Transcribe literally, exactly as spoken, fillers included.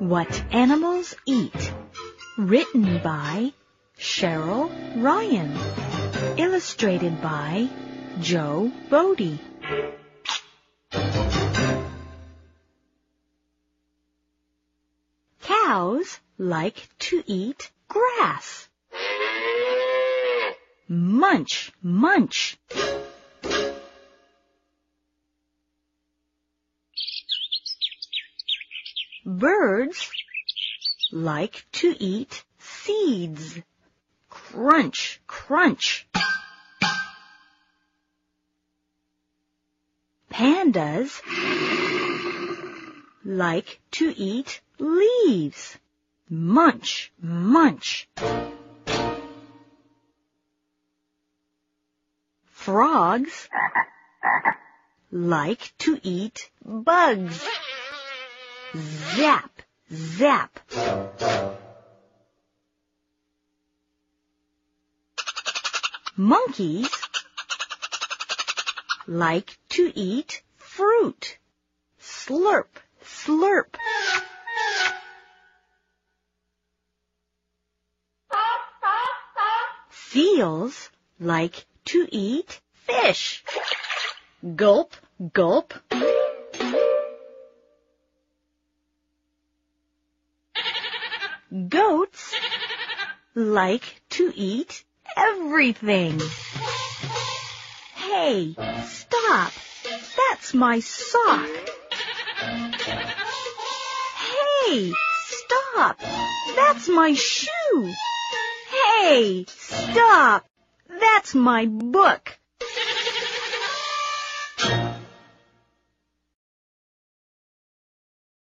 What Animals Eat, written by Cheryl Ryan, illustrated by Joe Bodie. Cows like to eat grass. Munch, munch. Birds like to eat seeds. Crunch, crunch. Pandas like to eat leaves. Munch, munch. Frogs like to eat bugs. Zap, zap. Monkeys like to eat fruit. Slurp, slurp. Seals like to eat fish. Gulp, gulp. Goats like to eat everything. Hey, stop! That's my sock. Hey, stop! That's my shoe. Hey, stop! That's my book.